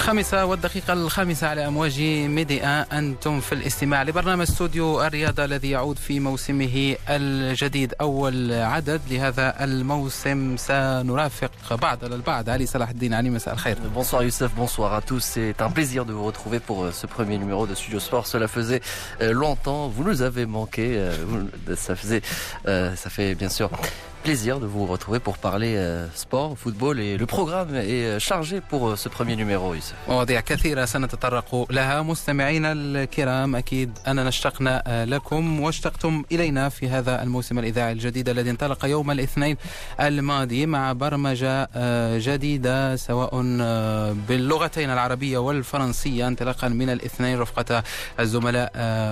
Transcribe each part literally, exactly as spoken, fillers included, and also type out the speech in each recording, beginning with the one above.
الخامسة والدقيقة الخامسة على أمواج ميديا، أنتم في الاستماع لبرنامج استوديو الرياضة الذي يعود في موسمه الجديد. أول عدد لهذا الموسم سنرافق بعض البعض. علي صلاح الدين، علي مساء الخير. Bonsoir Youssef, bonsoir à tous. C'est un plaisir de vous retrouver pour ce premier numéro de Studio Sport. Cela faisait longtemps, vous nous avez manqué. Ça faisait, ça fait bien sûr plaisir de vous retrouver pour parler sport, football, et le programme est chargé pour ce premier numéro. Youssef. مواضيع كثيرة سنتطرق لها. مستمعينا الكرام، أكيد أننا اشتقنا لكم واشتقتم إلينا في هذا الموسم الإذاعي الجديد الذي انطلق يوم الاثنين الماضي مع برمجة جديدة سواء باللغتين العربية والفرنسية انطلاقا من الاثنين رفقة الزملاء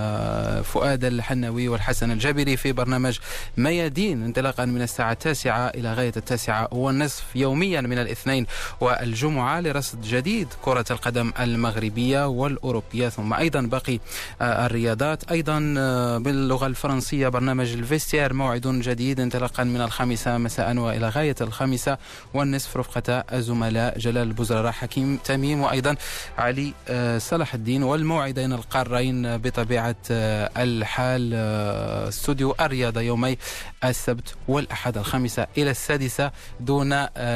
فؤاد الحناوي والحسن الجابري في برنامج ميادين انطلاقا من الساعة التاسعة إلى غاية التاسعة والنصف يوميا من الاثنين والجمعة لرصد جديد كرة القدم المغربية والأوروبية، ثم أيضا باقي الرياضات. أيضا باللغة الفرنسية برنامج الفيستير، موعد جديد انطلاقا من الخامسة مساء وإلى غاية الخامسة والنصف رفقة الزملاء جلال البزرراء، حكيم تميم، وأيضا علي صلاح الدين. والموعدين القارين بطبيعة الحال استوديو الرياضة يومي السبت والأحد الخامسة إلى السادسة دون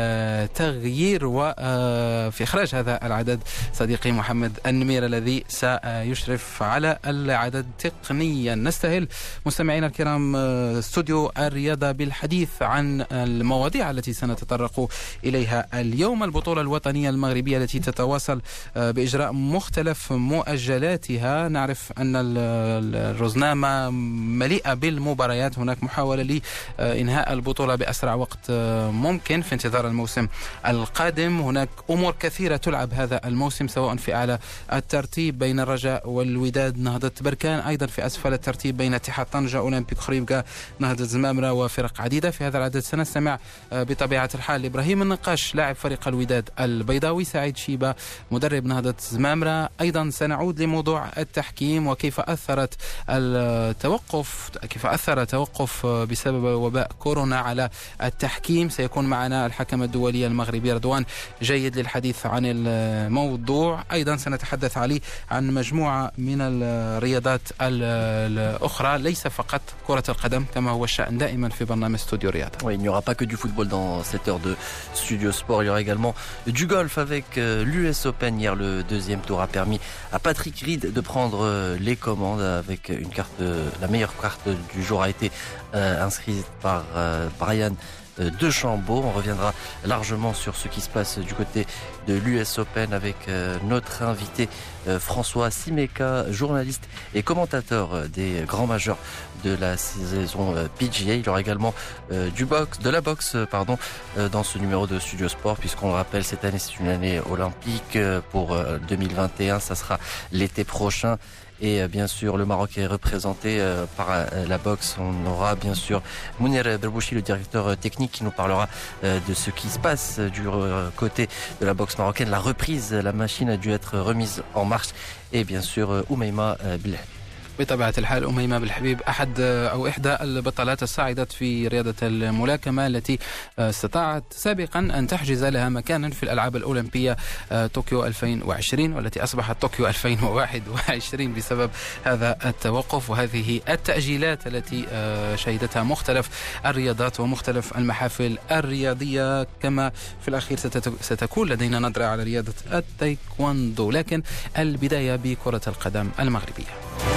تغيير. وفي إخراج هذا العدد صديقي محمد النمير الذي سيشرف على العدد تقنيا. نستهل مستمعينا الكرام استوديو الرياضة بالحديث عن المواضيع التي سنتطرق إليها اليوم. البطولة الوطنية المغربية التي تتواصل بإجراء مختلف مؤجلاتها. نعرف أن الرزنامة مليئة بالمباريات، هناك محاولة لإنهاء البطولة بأسرع وقت ممكن في انتظار الموسم القادم. هناك أمور كثيرة تلعب هذا الموسم سواء في أعلى الترتيب بين الرجاء والوداد نهضة بركان، أيضا في أسفل الترتيب بين اتحاد طنجة أولمبيك خريبكا نهضة زمامرة وفرق عديدة. في هذا العدد سنستمع بطبيعة الحال لإبراهيم النقاش لاعب فريق الوداد البيضاوي، سعيد شيبة مدرب نهضة زمامرة. أيضا سنعود لموضوع التحكيم وكيف أثرت التوقف كيف أثر توقف بسبب وباء كورونا على التحكيم. سيكون معنا الحكم الدولي المغربي رضوان جيد للحديث عن الموضوع. أيضا سنتحدث عليه عن مجموعة من الرياضات الأخرى، ليس فقط كرة القدم كما هو الشأن دائما في برنامج استوديو رياضة. Oui, il n'y aura pas que du football dans cette heure de Studio Sport. Il y aura également du golf avec l'U S Open. Hier, le deuxième tour a permis à Patrick Reed de prendre les commandes avec une carte, la meilleure carte du jour a été euh, inscrite par euh, Brian de Chambaud. On reviendra largement sur ce qui se passe du côté de l'U S Open avec euh, notre invité euh, François Simeka, journaliste et commentateur des grands majeurs de la saison euh, P G A. Il y aura également euh, du boxe, de la boxe pardon, euh, dans ce numéro de Studio Sport, puisqu'on le rappelle, cette année c'est une année olympique euh, pour euh, deux mille vingt et un, ça sera l'été prochain. Et bien sûr, le Maroc est représenté euh, par euh, la boxe. On aura bien sûr Mounir Berbouchi, le directeur technique, qui nous parlera euh, de ce qui se passe du euh, côté de la boxe marocaine. La reprise, la machine a dû être remise en marche. Et bien sûr, euh, Oumeima euh, Bilal. بطبيعة الحال أميمة بالحبيب أحد أو إحدى البطلات الصاعدة في رياضة الملاكمة التي استطاعت سابقا أن تحجز لها مكانا في الألعاب الأولمبية طوكيو ألفين وعشرين، والتي أصبحت طوكيو ألفين وواحد وعشرين بسبب هذا التوقف وهذه التأجيلات التي شهدتها مختلف الرياضات ومختلف المحافل الرياضية. كما في الأخير ستكون لدينا نظرة على رياضة التايكواندو، لكن البداية بكرة القدم المغربية.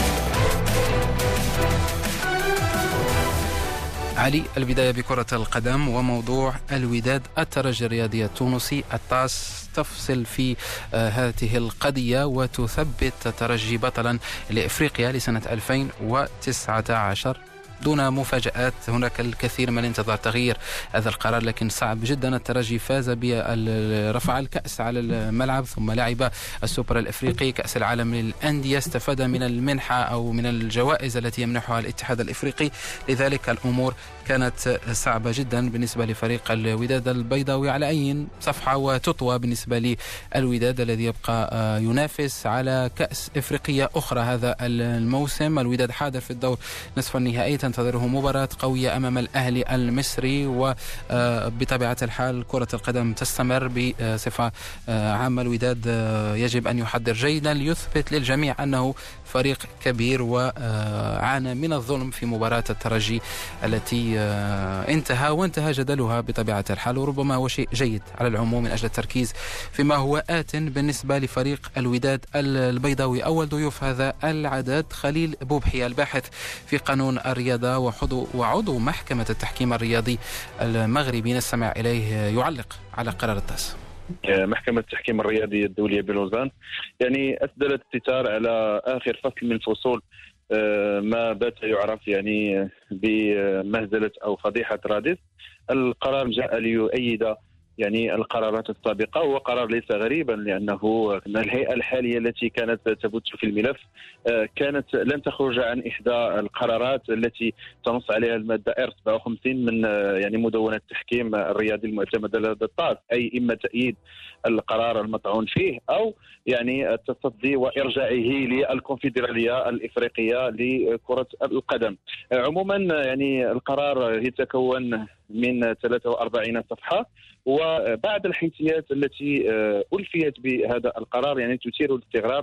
علي، البداية بكرة القدم وموضوع الوداد الترجي الرياضي التونسي. الطاس تفصل في هذه القضية وتثبت الترجي بطلا لإفريقيا لسنة ألفين وتسعة عشر دون مفاجآت. هناك الكثير من الانتظار تغيير هذا القرار، لكن صعب جدا. الترجي فاز برفع الكأس على الملعب، ثم لعب السوبر الإفريقي، كأس العالم للأندية، استفاد من المنحة أو من الجوائز التي يمنحها الاتحاد الإفريقي. لذلك الأمور كانت صعبة جدا بالنسبة لفريق الوداد البيضاوي على أي صفحة، وتطوى بالنسبة للوداد الذي يبقى ينافس على كأس إفريقية أخرى هذا الموسم. الوداد حاضر في الدور نصف النهائي، تنتظره مباراة قوية أمام الأهلي المصري، وبطبيعة الحال كرة القدم تستمر بصفة عامة. الوداد يجب أن يحضر جيدا ليثبت للجميع أنه فريق كبير وعانى من الظلم في مباراة الترجي التي انتهى وانتهى جدلها بطبيعة الحال، وربما هو شيء جيد على العموم من أجل التركيز فيما هو آت بالنسبة لفريق الوداد البيضاوي. أول ضيوف هذا العدد خليل بوبحي، الباحث في قانون الرياضة وعضو, وعضو محكمة التحكيم الرياضي المغربي، نستمع إليه يعلق على قرار الطاس. محكمة التحكيم الرياضي الدولية بلوزان يعني أسدلت الستار على آخر فصل من فصول ما بات يعرف يعني بمهزلة أو فضيحة رادس. القرار جاء ليؤيد يعني القرارات السابقة، وهو قرار ليس غريبا لأنه الهيئة الحالية التي كانت تبث في الملف كانت لن تخرج عن إحدى القرارات التي تنص عليها المادة إر سبعة وخمسين من يعني مدونة التحكيم الرياضي المعتمدة لدى الطاس، أي إما تأييد القرار المطعون فيه أو يعني التصدي وإرجاعه للكونفدرالية الإفريقية لكرة القدم. عموما يعني القرار يتكون من ثلاثة وأربعين صفحة، وبعض الحيثيات التي ألفيت بهذا القرار يعني تثير الاستغراب،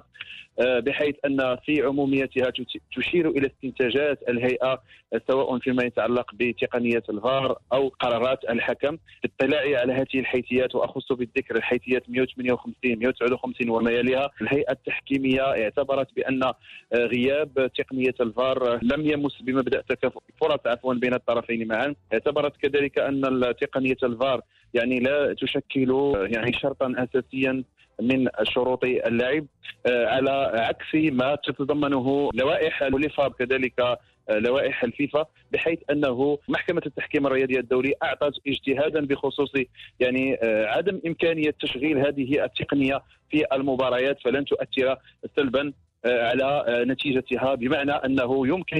بحيث أن في عموميتها تشير إلى استنتاجات الهيئة سواء فيما يتعلق بتقنية الفار أو قرارات الحكم. اطلاعي على هذه الحيثيات وأخص بالذكر الحيثيات مئة وثمانية وخمسين مئة وتسعة وخمسين وما يليها، الهيئة التحكيمية اعتبرت بأن غياب تقنية الفار لم يمس بمبدأ تكافؤ الفرص عفوا بين الطرفين معا. اعتبرت كذلك أن تقنية الفار يعني لا تشكل يعني شرطا أساسيا من شروط اللعب، على عكس ما تتضمنه لوائح الوليفاب كذلك لوائح الفيفا، بحيث أنه محكمة التحكيم الرياضي الدولي أعطت اجتهادا بخصوص يعني عدم إمكانية تشغيل هذه التقنية في المباريات فلن تؤثر سلبا على نتيجتها، بمعنى أنه يمكن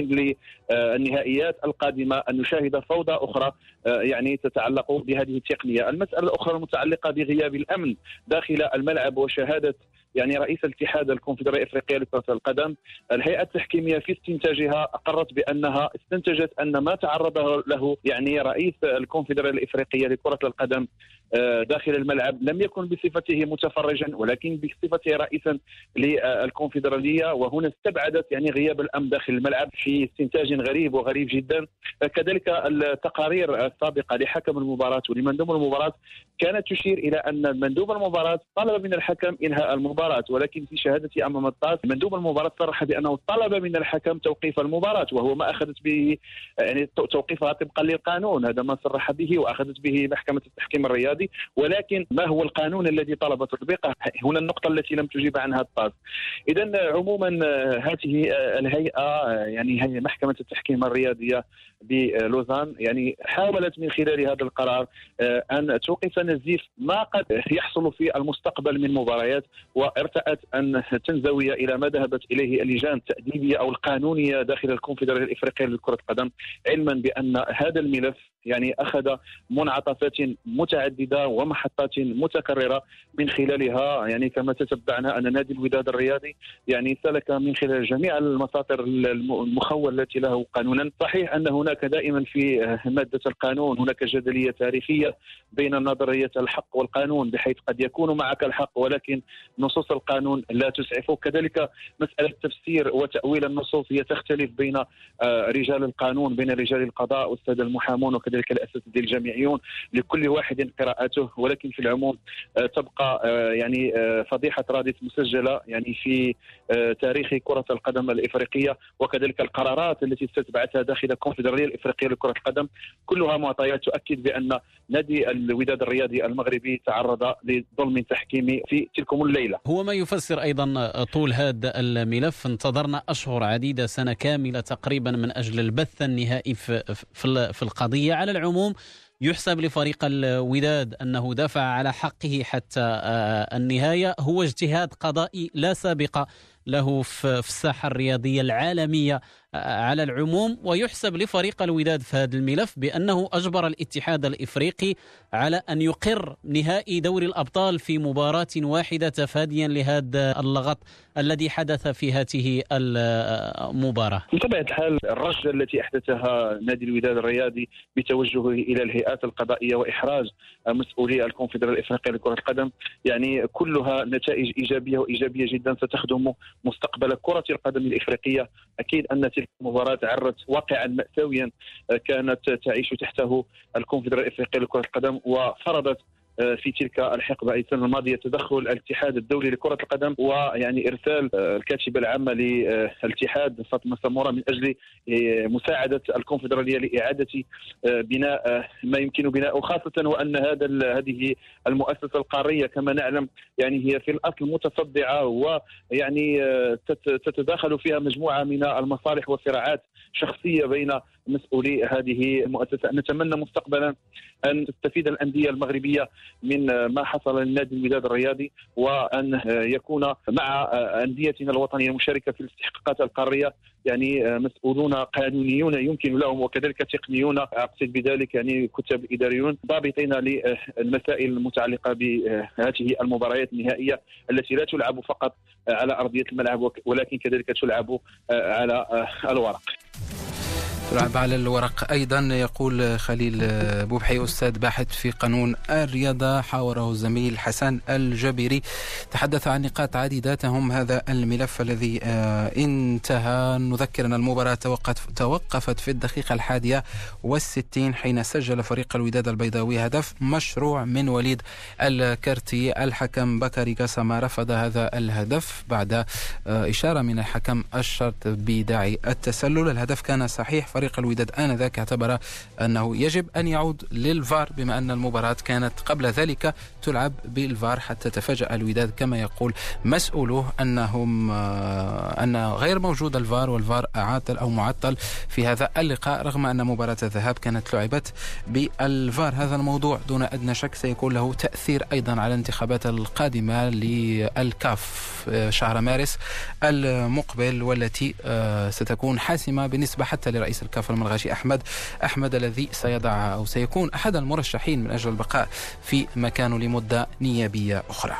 للنهائيات القادمة أن نشاهد فوضى أخرى يعني تتعلق بهذه التقنية. المسألة الأخرى المتعلقة بغياب الأمن داخل الملعب وشهادة يعني رئيس الاتحاد الكونفدرالية الإفريقية لكرة القدم، الهيئة التحكيمية في استنتاجها أقرت بأنها استنتجت أن ما تعرض له يعني رئيس الكونفدرالية الإفريقية لكرة القدم داخل الملعب لم يكن بصفته متفرجا ولكن بصفته رئيسا للكونفدرالية، وهنا استبعدت يعني غياب الأمن داخل الملعب في استنتاج غريب وغريب جدا. كذلك التقارير السابقة لحكم المباراة ولمندوب المباراة كانت تشير إلى أن مندوب المباراة طلب من الحكم إنهاء المباراة، ولكن في شهادتي أمام الطاس مندوب المباراة صرح بأنه طلب من الحكم توقيف المباراة، وهو ما أخذت به يعني توقيفها طبقا للقانون، هذا ما صرح به وأخذت به محكمة التحكيم الرياضي. ولكن ما هو القانون الذي طلب تطبيقه؟ هنا النقطة التي لم تجيب عنها الطاس. إذن عموما هذه الهيئة يعني هي محكمة التحكيم الرياضية بلوزان يعني حاولت من خلال هذا القرار أن توقف نزيف ما قد يحصل في المستقبل من مباريات، وارتأت أن تنزوي إلى ما ذهبت إليه اللجان التأديبية أو القانونية داخل الكونفدرالية الإفريقية لكرة القدم، علما بأن هذا الملف يعني أخذ منعطفات متعددة ومحطات متكررة من خلالها يعني كما تتبعنا أن نادي الوداد الرياضي يعني سلك من خلال جميع المساطر المخولة التي له قانونا. صحيح أن هناك دائما في مادة القانون هناك جدلية تاريخية بين نظرية الحق والقانون، بحيث قد يكون معك الحق ولكن نصوص القانون لا تسعفه. كذلك مسألة تفسير وتأويل النصوص هي تختلف بين رجال القانون، بين رجال القضاء والسادة المحامون وكذلك الأساتذة الجامعيون، لكل واحد قراءته، ولكن في العموم تبقى يعني فضيحة رادس مسجلة يعني في تاريخ كرة القدم الإفريقية، وكذلك القرارات التي استتبعتها داخل الكونفدرالية الإفريقية لكرة القدم كلها معطيات تؤكد بأن نادي الوداد الرياضي المغربي تعرض لظلم تحكيمي في تلكم الليلة. هو ما يفسر أيضا طول هذا الملف. انتظرنا أشهر عديدة، سنة كاملة تقريبا من أجل البث النهائي في, في, في القضية. على العموم يحسب لفريق الوداد أنه دفع على حقه حتى النهاية، هو اجتهاد قضائي لا سابقة له في الساحة الرياضية العالمية على العموم. ويحسب لفريق الوداد في هذا الملف بأنه أجبر الاتحاد الإفريقي على أن يقر نهائي دوري الأبطال في مباراة واحدة تفاديا لهذا اللغط الذي حدث في هذه المباراة. بطبيعة الحال الرجة التي أحدثها نادي الوداد الرياضي بتوجهه إلى الهيئات القضائية وإحراج مسؤولي الكونفدرالية الإفريقية لكرة القدم يعني كلها نتائج إيجابية وإيجابية جدا ستخدم مستقبل كرة القدم الإفريقية. أكيد أن تلك المباراة عرت واقعا مأساويا كانت تعيش تحته الكونفدرالية الإفريقية لكرة القدم، وفرضت في تلك الحقبة أي السنة الماضية تدخل الاتحاد الدولي لكرة القدم ويعني إرسال الكاتبة العامة للاتحاد فاطمة سمورة من أجل مساعدة الكونفدرالية لإعادة بناء ما يمكن بناءه، خاصة وأن هذا هذه المؤسسة القارية كما نعلم يعني هي في الأصل متصدعة ويعني تتداخل فيها مجموعة من المصالح وصراعات شخصية بين مسؤولي هذه المؤسسة. نتمنى مستقبلا أن تستفيد الأندية المغربية من ما حصل للنادي الوداد الرياضي وأن يكون مع أنديتنا الوطنية المشاركة في الاستحقاقات القارية يعني مسؤولون قانونيون يمكن لهم وكذلك تقنيون، أقصد بذلك يعني كتاب إداريون ضابطين للمسائل المتعلقة بهذه المباريات النهائية التي لا تلعب فقط على أرضية الملعب ولكن كذلك تلعب على الورق. تلعب على الورق أيضا. يقول خليل بوبحي أستاذ باحث في قانون الرياضة حاوره الزميل حسن الجبيري، تحدث عن نقاط عديدة تهم هذا الملف الذي انتهى. نذكر أن المباراة توقفت في الدقيقة الحادية والستين حين سجل فريق الوداد البيضاوي هدف مشروع من وليد الكرتي. الحكم بكري قاسم رفض هذا الهدف بعد إشارة من الحكم الشرط بداعي التسلل. الهدف كان صحيح. فريق الوداد آنذاك اعتبر أنه يجب أن يعود للفار بما أن المباراة كانت قبل ذلك تلعب بالفار، حتى تفاجأ الوداد كما يقول مسؤولوه أنهم أن غير موجود الفار والفار عاطل أو معطل في هذا اللقاء رغم أن مباراة الذهاب كانت لعبت بالفار. هذا الموضوع دون أدنى شك سيكون له تأثير أيضا على الانتخابات القادمة للكاف شهر مارس المقبل والتي ستكون حاسمة بالنسبة حتى لرئيس الكاف الملغاشي أحمد أحمد الذي سيضع أو سيكون أحد المرشحين من أجل البقاء في مكانه لمدة نيابية أخرى.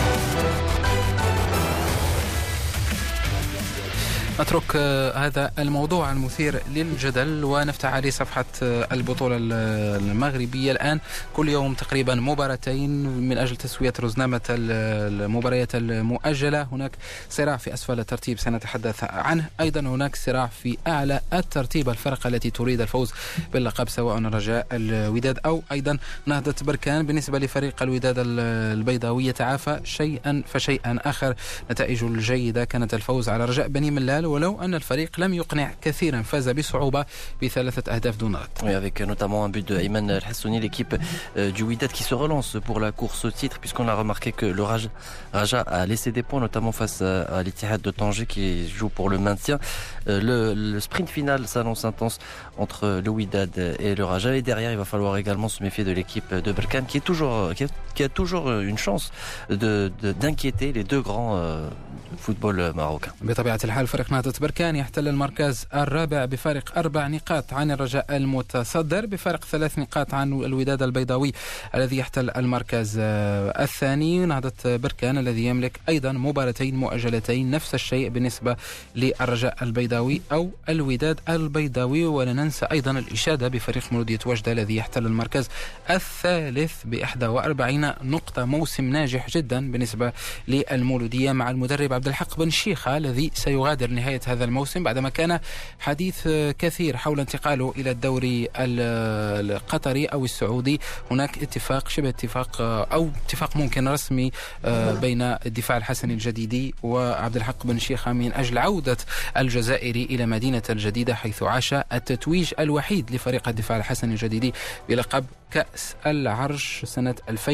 نترك هذا الموضوع المثير للجدل ونفتح عليه صفحة البطولة المغربية. الآن كل يوم تقريبا مباراتين من أجل تسوية رزنامة المباريات المؤجلة. هناك صراع في أسفل الترتيب سنتحدث عنه، أيضا هناك صراع في أعلى الترتيب، الفرق التي تريد الفوز باللقب سواء رجاء الوداد أو أيضا نهضة بركان. بالنسبة لفريق الوداد البيضاوي يتعافى شيئا فشيئا. آخر نتائجه الجيدة كانت الفوز على رجاء بني ملال ولو أن الفريق لم يقنع كثيرا، فاز بصعوبة بثلاثة أهداف دون رد. Oui, avec notamment un but de Ayman El Hassouni, l'équipe euh, du Wydad qui se relance pour la course au titre, puisqu'on a remarqué que le Raja, Raja a laissé des points, notamment face à, à l'Ittihad de Tanger qui joue pour le maintien. Euh, le, le sprint final s'annonce intense entre le Wydad et le Raja, et derrière il va falloir également se méfier de l'équipe de Berkane qui est toujours qui a, qui a toujours une chance de, de d'inquiéter les deux grands euh, football marocain. بطبيعة الحال فريق نهضة بركان يحتل المركز الرابع بفارق أربع نقاط عن الرجاء المتصدر، بفارق ثلاث نقاط عن الوداد البيضاوي الذي يحتل المركز الثاني. نهضة بركان الذي يملك أيضا مباراتين مؤجلتين، نفس الشيء بالنسبة للرجاء البيضاوي أو الوداد البيضاوي. ولا ننسى أيضا الإشادة بفريق مولودية وجدة الذي يحتل المركز الثالث بإحدى وأربعين نقطة. موسم ناجح جدا بالنسبة للمولودية مع المدرب عبد الحق بن شيخة الذي سيغادر نهاية هذا الموسم بعدما كان حديث كثير حول انتقاله إلى الدوري القطري أو السعودي. هناك اتفاق شبه اتفاق أو اتفاق ممكن رسمي بين الدفاع الحسني الجديدي وعبد الحق بن شيخة من أجل عودة الجزائري إلى مدينة الجديدة حيث عاش التتويج الوحيد لفريق الدفاع الحسني الجديدي بلقب كأس العرش سنة ألفين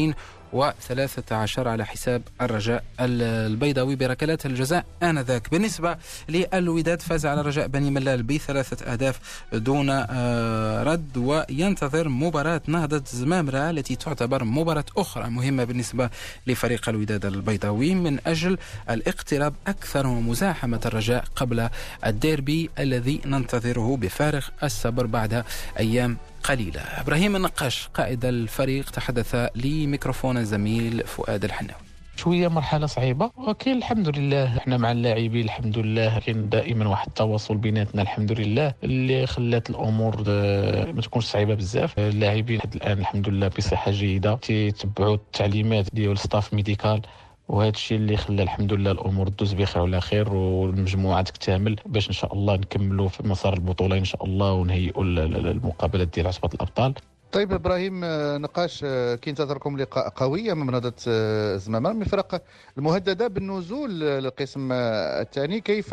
وثلاثة عشر على حساب الرجاء البيضاوي بركلات الجزاء آنذاك. بالنسبة للوداد فاز على رجاء بني ملال بثلاثة أهداف دون رد، وينتظر مباراة نهضة زمامرة التي تعتبر مباراة أخرى مهمة بالنسبة لفريق الوداد البيضاوي من أجل الاقتراب أكثر ومزاحمة الرجاء قبل الديربي الذي ننتظره بفارغ الصبر بعد أيام قليلة. إبراهيم النقاش قائد الفريق تحدث لميكروفون الزميل فؤاد الحناوي. شويه مرحله صعيبه، ولكن الحمد لله احنا مع اللاعبين الحمد لله كاين دائما واحد التواصل بيناتنا الحمد لله اللي خلات الامور ما تكونش صعيبه بزاف. اللاعبين حتى الان الحمد لله بصحه جيده، تيتبعوا التعليمات ديال الستاف ميديكال، وهذا الشيء اللي خلى الحمد لله الامور تدوز بخير وعلى خير والمجموعه تكتمل باش ان شاء الله نكملوا في مسار البطوله ان شاء الله ونهيئوا المقابلات ديال عصبه الابطال. طيب ابراهيم نقاش، كينتظركم لقاء قوي امام نهضه زمامة من الفرق المهدده بالنزول للقسم الثاني. كيف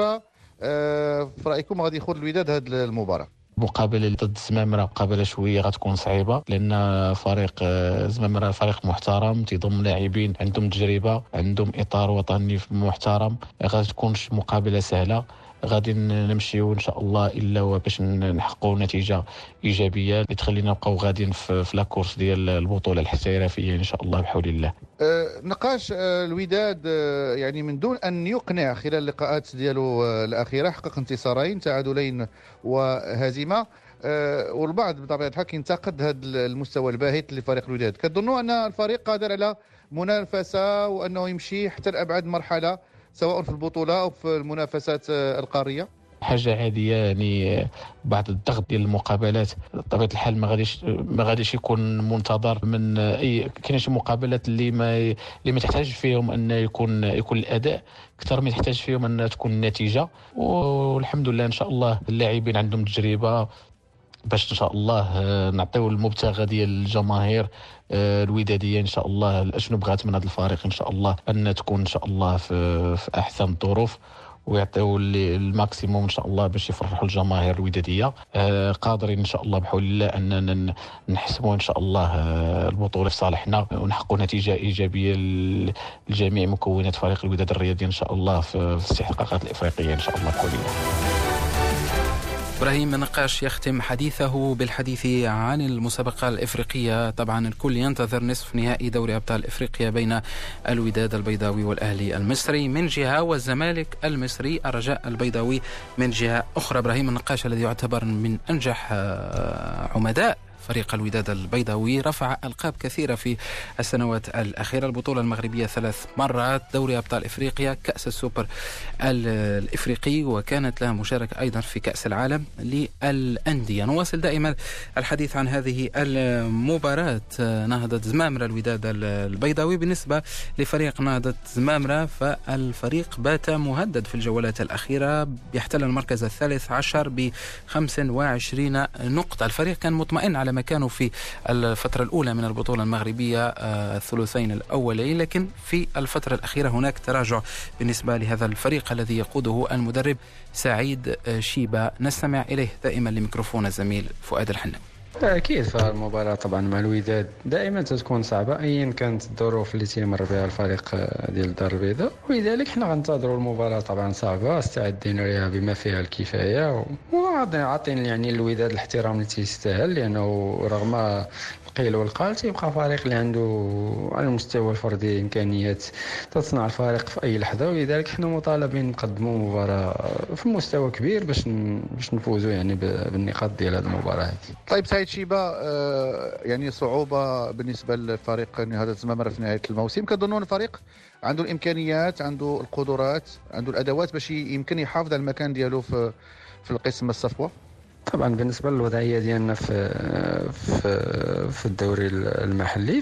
في رايكم غادي يخوض الوداد هذه المباراه؟ مقابله ضد زمامرة مقابله شويه غتكون صعيبه، لان فريق زمامرة فريق محترم تيضم لاعبين عندهم تجربه، عندهم اطار وطني محترم، غادي تكونش مقابله سهله. غادي نمشيو ان شاء الله الا باش نحققوا نتيجه ايجابيه اللي تخلينا نبقاو غاديين في, في لاكورس ديال البطوله الاحترافيه ان شاء الله بحول الله. أه نقاش أه الوداد أه يعني من دون ان يقنع خلال اللقاءات ديالو أه الاخيره حقق انتصارين تعادلين وهزيمه، أه والبعض بطبيعه الحال كينتقد هذا المستوى الباهت لفريق الوداد. كتظنوا ان الفريق قادر على منافسه وانه يمشي حتى لابعد مرحله سواء في البطوله او في المنافسات القاريه؟ حاجه عاديه، يعني بعد الضغط ديال المقابلات بطبيعه الحال ما غاديش ما غاديش يكون منتظر من اي. كاين شي مقابلات اللي ما اللي ما تحتاج فيهم ان يكون يكون الاداء اكثر ما تحتاج فيهم ان تكون النتيجه، والحمد لله ان شاء الله اللاعبين عندهم تجربه باش ان شاء الله نعطيو المبتغى ديال الجماهير الوداديه ان شاء الله. اشنو بغات من هذا الفريق ان شاء الله ان تكون ان شاء الله في, في احسن الظروف ويعطيو الماكسيموم ان شاء الله باش يفرحوا الجماهير الوداديه. قادرين ان شاء الله بحول الله اننا نحسموا ان شاء الله البطوله في صالحنا ونحققوا نتيجه ايجابيه لجميع مكونات فريق الوداد الرياضي ان شاء الله في الاستحقاقات الافريقيه ان شاء الله بحول الله. إبراهيم النقاش يختم حديثه بالحديث عن المسابقة الإفريقية. طبعا الكل ينتظر نصف نهائي دوري أبطال إفريقيا بين الوداد البيضاوي والأهلي المصري من جهة والزمالك المصري الرجاء البيضاوي من جهة أخرى. إبراهيم النقاش الذي يعتبر من أنجح عمداء فريق الوداد البيضاوي رفع ألقاب كثيرة في السنوات الأخيرة، البطولة المغربية ثلاث مرات، دوري أبطال إفريقيا، كأس السوبر الإفريقي، وكانت لها مشاركة أيضا في كأس العالم للأندية. نواصل دائما الحديث عن هذه المباراة نهضة زمامرة الوداد البيضاوي. بالنسبة لفريق نهضة زمامرة فالفريق بات مهدد في الجولات الأخيرة، يحتل المركز الثالث عشر ب خمس وعشرين نقطة. الفريق كان مطمئن على مكانه في الفترة الأولى من البطولة المغربية الثلثين الأولين، لكن في الفترة الأخيرة هناك تراجع بالنسبة لهذا الفريق الذي يقوده المدرب سعيد شيبة. نستمع إليه دائما لميكروفون الزميل فؤاد الحناوي. أكيد فالمباراة طبعا مع الوداد دائما تكون صعبة أيا كانت الظروف اللي تيمر بها الفريق ديال الدار البيضاء، ولذلك حنا غنتظروا المباراة طبعا صعبة، استعدين لها بما فيها الكفاية، وعاطين يعني الوداد الاحترام اللي تيستاهل، لأنه رغم القيل والقال تيبقى فريق اللي عنده على المستوى الفردي إمكانيات تصنع الفريق في أي لحظة، ولذلك حنا مطالبين نقدموا مباراة في مستوى كبير باش باش نفوزوا يعني بالنقاط ديال هذه المباراة. طيب سعيد شيبة، يعني صعوبة بالنسبة للفريق نهضة زمامرة في نهاية الموسم، كظنون الفريق عنده الإمكانيات، عنده القدرات، عنده الأدوات باش يمكن يحافظ على المكان ديالو في في القسم الصفوة؟ طبعا بالنسبه للوضعيه ديالنا في في في الدوري المحلي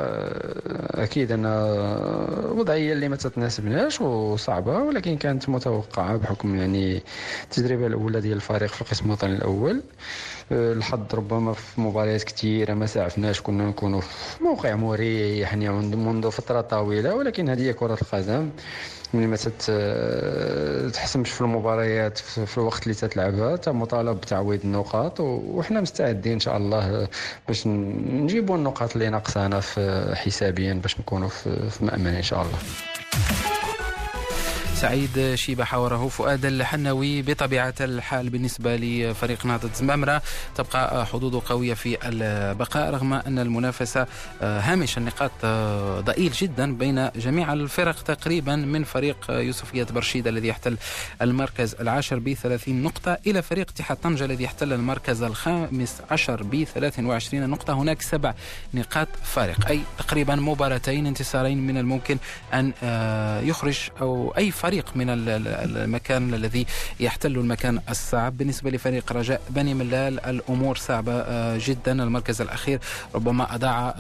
فاكيد ان وضعيه اللي ما تتناسبناش وصعبه، ولكن كانت متوقعه بحكم يعني التجربه الاولى ديال الفريق في القسم الوطني الاول. الحظ ربما في مباريات كثيره ما سعفناش، كنا نكونوا في موقع مريح يعني منذ فتره طويله، ولكن هذه هي كره القدم. ملي ما تحسمش في المباريات في الوقت اللي تتلعبها انت مطالب بتعويض النقاط، وحنا مستعدين ان شاء الله باش نجيبوا النقاط اللي ناقصانا في حسابيا باش نكونوا في مأمن ان شاء الله. سعيد شيبة حوره فؤاد الحناوي. بطبيعة الحال بالنسبة لفريق نهضة زمامرة تبقى حظوظه قوية في البقاء رغم أن المنافسة هامش النقاط ضئيل جدا بين جميع الفرق تقريبا، من فريق يوسفية برشيد الذي يحتل المركز العاشر بثلاثين نقطة إلى فريق اتحاد طنجة الذي يحتل المركز الخامس عشر بثلاث وعشرين نقطة. هناك سبع نقاط فارق، أي تقريبا مباراتين انتصارين من الممكن أن يخرج أو أي فريق فريق من المكان الذي يحتل المكان الصعب. بالنسبة لفريق رجاء بني ملال الأمور صعبة جدا، المركز الأخير ربما أضاع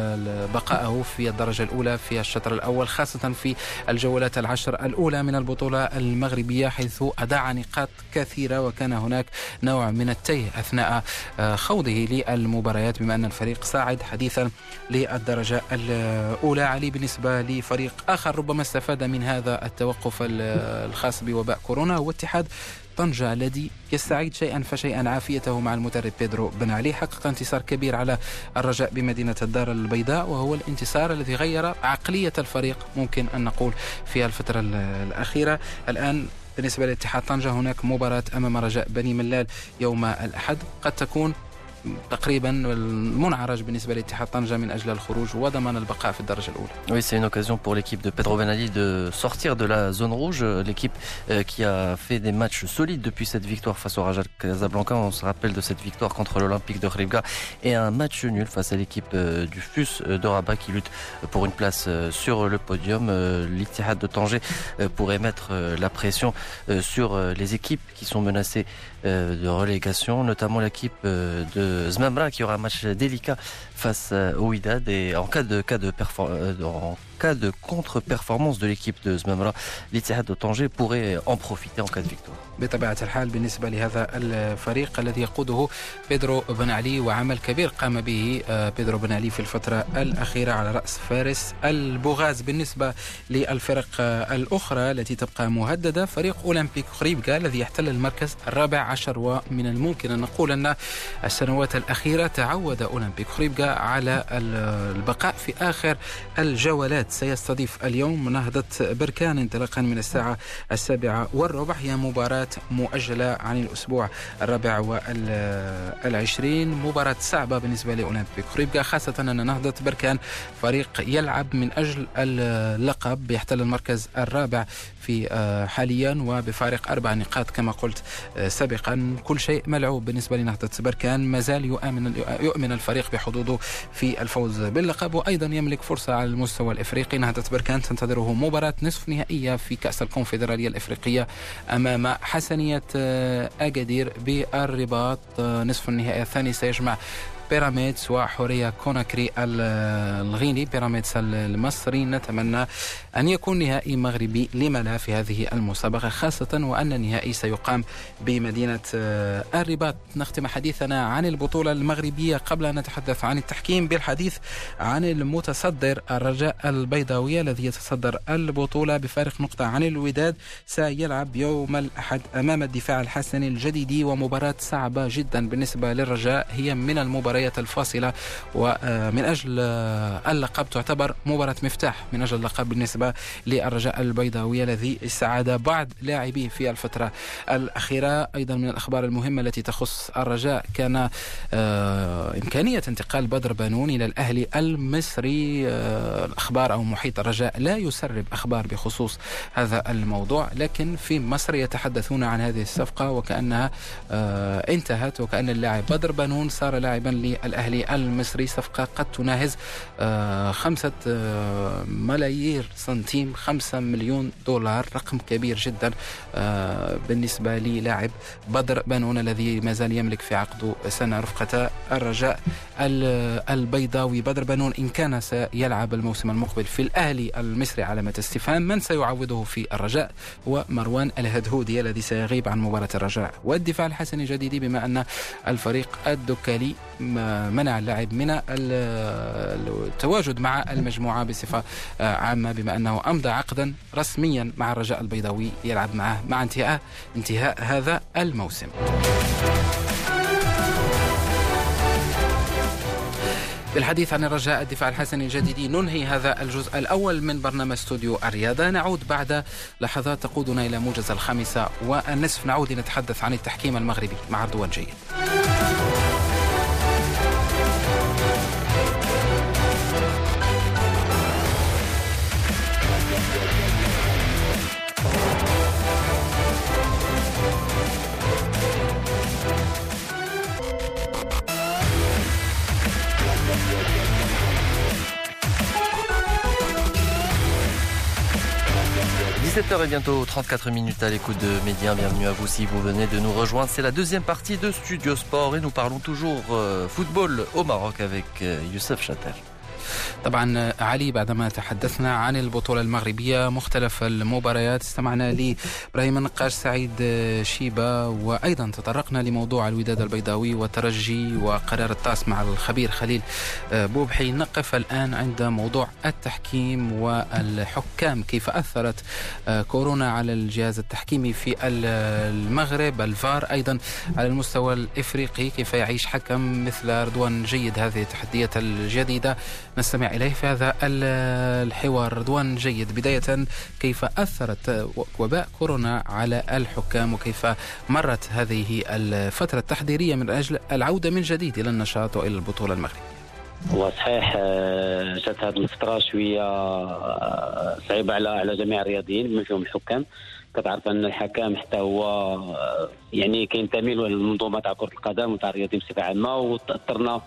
بقاءه في الدرجة الأولى في الشطر الأول، خاصة في الجولات العشر الأولى من البطولة المغربية، حيث أضاع نقاط كثيرة وكان هناك نوع من التيه أثناء خوضه للمباريات بما أن الفريق صاعد حديثا للدرجة الأولى. علي بالنسبة لفريق آخر ربما استفاد من هذا التوقف الخاص بوباء كورونا هو اتحاد طنجة الذي يستعيد شيئا فشيئا عافيته مع المدرب بيدرو بن علي. حقق انتصار كبير على الرجاء بمدينة الدار البيضاء، وهو الانتصار الذي غير عقلية الفريق ممكن أن نقول في الفترة الأخيرة. الآن بالنسبة لاتحاد طنجة هناك مباراة أمام رجاء بني ملال يوم الأحد، قد تكون تقريبا المنعرج بالنسبة لاتحاد طنجة من أجل الخروج وضمان البقاء في الدرجة الأولى. Oui, c'est une occasion pour l'équipe de Pedro Ben Ali de sortir de la zone rouge. L'équipe euh, qui a fait des matchs solides depuis cette victoire face au Raja Casablanca. On se rappelle de cette victoire contre l'Olympique de Khribga et un match nul face à l'équipe euh, du F U S de Rabat qui lutte pour une place euh, sur le podium. Euh, L'Ittihad de Tanger euh, pourrait mettre euh, la pression euh, sur euh, les équipes qui sont menacées euh, de relégation, notamment l'équipe euh, de Zmamra qui aura un match délicat face au Wydad, et en cas de cas de performance en cas de contre-performance de l'équipe de Zmamra, l'Ittihad de Tanger pourrait en profiter en cas de victoire. بطبيعة الحال بالنسبة لهذا الفريق الذي يقوده بيدرو بن علي، وعمل كبير قام به بيدرو بن علي في الفترة الأخيرة على رأس فارس البوغاز. بالنسبة للفرق الأخرى التي تبقى مهددة فريق أولمبيك خريبكا الذي يحتل المركز الرابع عشر، ومن الممكن أن نقول أن السنوات الأخيرة تعود أولمبيك خريبكا على البقاء في آخر الجولات. سيستضيف اليوم نهضة بركان انطلاقا من الساعة السابعة والربع، هي مباراة مؤجلة عن الأسبوع الرابع والعشرين، مباراة صعبة بالنسبة لأولمبيك خريبكا، خاصة أن نهضة بركان فريق يلعب من أجل اللقب، يحتل المركز الرابع في حاليا وبفارق أربع نقاط كما قلت سابقا. كل شيء ملعوب بالنسبة لنهضة بركان، مازال يؤمن, يؤمن الفريق بحظوظه في الفوز باللقب، وأيضا يملك فرصة على المستوى الإفريقي. نهضة بركان تنتظره مباراة نصف نهائية في كأس الكونفدرالية الإفريقية أمام حسنية أكادير بالرباط. نصف النهائي الثاني سيجمع بيراميدز وحورية كوناكري الغيني. بيراميدز المصري نتمنى أن يكون نهائي مغربي لما لا في هذه المسابقة، خاصة وأن النهائي سيقام بمدينة الرباط. نختم حديثنا عن البطولة المغربية قبل أن نتحدث عن التحكيم بالحديث عن المتصدر الرجاء البيضاوية الذي يتصدر البطولة بفارق نقطة عن الوداد. سيلعب يوم الأحد أمام الدفاع الحسني الجديدي، ومباراة صعبة جدا بالنسبة للرجاء، هي من المباريات الفاصلة ومن أجل اللقب، تعتبر مباراة مفتاح من أجل اللقب بالنسبة للرجاء البيضاوي الذي استعاد بعض لاعبيه في الفترة الأخيرة. أيضا من الأخبار المهمة التي تخص الرجاء كان إمكانية انتقال بدر بانون إلى الأهلي المصري. الأخبار أو محيط الرجاء لا يسرب أخبار بخصوص هذا الموضوع، لكن في مصر يتحدثون عن هذه الصفقة وكأنها انتهت، وكأن اللاعب بدر بانون صار لاعبا للأهلي المصري، صفقة قد تناهز خمسة ملايير سنتيم، خمسة مليون دولار، رقم كبير جدا بالنسبة للاعب بدر بنون الذي ما زال يملك في عقده سنة رفقة الرجاء البيضاوي. بدر بنون إن كان سيلعب الموسم المقبل في الأهلي المصري علامة استفهام، من سيعوضه في الرجاء هو مروان الهدهودي الذي سيغيب عن مباراة الرجاء والدفاع الحسني الجديدي، بما أن الفريق الدكالي منع اللاعب من التواجد مع المجموعة بصفة عامة، بما أنه أمضى عقدا رسميا مع الرجاء البيضاوي يلعب معه مع انتهاء انتهاء هذا الموسم. بالحديث عن الرجاء الدفاع الحسني الجديدي ننهي هذا الجزء الأول من برنامج استوديو الرياضة. نعود بعد لحظات تقودنا إلى موجز الخامسة والنصف، نعود لنتحدث عن التحكيم المغربي مع رضوان جيد. dix-sept heures et bientôt trente-quatre minutes à l'écoute de Média. Bienvenue à vous si vous venez de nous rejoindre. C'est la deuxième partie de Studio Sport et nous parlons toujours euh, football au Maroc avec euh, Youssef Chater. طبعا علي، بعدما تحدثنا عن البطولة المغربية مختلف المباريات، استمعنا لإبراهيم النقاش، سعيد شيبة، وأيضا تطرقنا لموضوع الوداد البيضاوي والترجي وقرار الطاس مع الخبير خليل بوبحي. نقف الآن عند موضوع التحكيم والحكام، كيف أثرت كورونا على الجهاز التحكيمي في المغرب، الفار أيضا على المستوى الإفريقي، كيف يعيش حكم مثل رضوان جيد هذه التحديات الجديدة. نستمع إليه في هذا الحوار. رضوان جيد، بداية كيف أثرت وباء كورونا على الحكام وكيف مرت هذه الفترة التحضيرية من أجل العودة من جديد إلى النشاط وإلى البطولة المغربية؟ هو صحيح جات هذه الفترة شوية صعيبة على على جميع الرياضيين بما فيهم الحكام. كتعرف أن الحكام حتى هو يعني كينتمي للمنظومة تاع كرة القدم وتاع الرياضيين بصفة عامة، وتأثرنا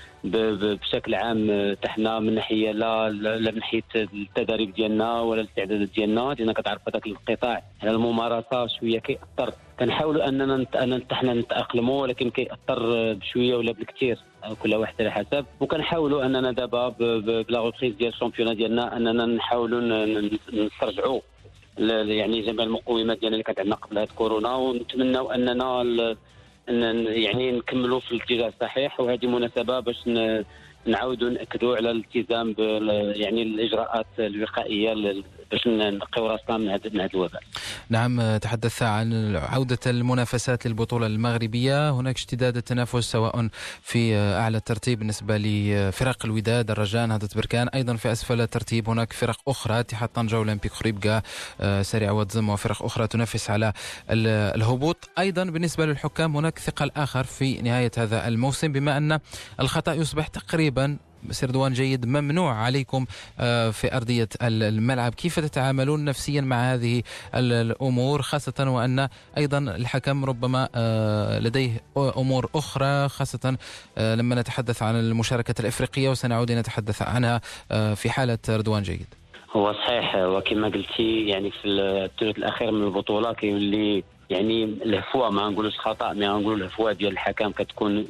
بشكل عام تحنا من ناحيه لا لا من ناحيه التدريب ديالنا ولا الاستعدادات ديالنا، لان كتعرف هذاك القطاع على الممارسه شويه كيأثر. كنحاولوا اننا حنا نتاقلموا، ولكن كيأثر بشويه ولا بالكثير، كل واحد على حسب. وكنحاولوا اننا دابا بلا غوبريز ديال الشامبيونات ديالنا اننا نحاولوا نسترجعوا يعني جميع المقومات ديالنا اللي كانت عندنا قبل هاد كورونا، ونتمنوا اننا ان يعني نكملوا في الاتجاه الصحيح. وهذه مناسبه باش نعاودوا ناكدوا على الالتزام بال يعني الاجراءات الوقائيه باش نقيو راسنا من هذا من هذا الوباء. نعم، تحدث عن عودة المنافسات للبطولة المغربية. هناك اشتداد التنافس سواء في أعلى الترتيب بالنسبة لفرق الوداد، الرجاء، نهضة بركان، أيضا في أسفل الترتيب هناك فرق أخرى، اتحاد طنجة، أولمبيك خريبكا، سريع واتزم، وفرق أخرى تنافس على الهبوط. أيضا بالنسبة للحكام هناك ثقل آخر في نهاية هذا الموسم، بما أن الخطأ يصبح تقريبا سردوان جيد ممنوع عليكم في أرضية الملعب. كيف تتعاملون نفسيا مع هذه الأمور، خاصة وأن أيضا الحكم ربما لديه أمور أخرى، خاصة لما نتحدث عن المشاركة الإفريقية وسنعود نتحدث عنها في حالة رضوان جيد؟ هو صحيح، وكما قلتي يعني في الثلث الأخير من البطولة كيولي يعني الهفوة، ما نقولوش خطأ، ما نقولوا الهفوة ديال الحكم كتكون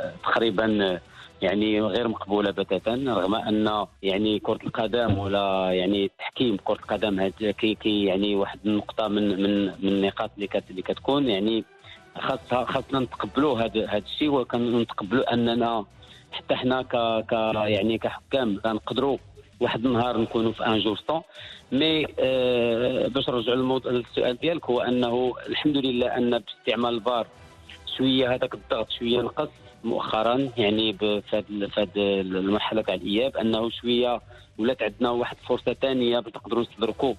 تقريبا يعني غير مقبولة بتاتا، رغم أن يعني كرة القدم ولا يعني تحكيم كرة القدم هاد كي كي يعني واحد النقطة من من من النقاط اللي كت اللي كتكون يعني خاصها خاصنا نتقبلوا هذا هذا الشيء، وكنتقبلوا أننا حتى حنا ك ك يعني كحكام غنقدروا واحد النهار نكونوا في ان جور سون. مي آه باش نرجعوا للموضوع السؤال ديالك، هو أنه الحمد لله أن باستعمال الفار شوية هذاك الضغط شوية نقص مؤخرا، يعني في هذه المرحله تاع الاياب، انه شويه ولات عندنا واحد فرصه ثانيه باش نقدروا نستدركوا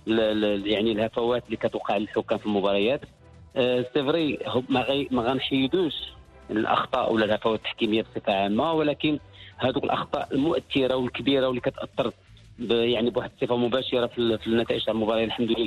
يعني الهفوات اللي كتوقع للحكام في المباريات. سي فري ما غي ما غنحيدوش الاخطاء ولا الهفوات التحكيميه بصفه عامه، ولكن هذوك الاخطاء المؤثره والكبيره واللي كتاثر يعني بواحد الصفه مباشره في النتائج تاع المباراه الحمد لله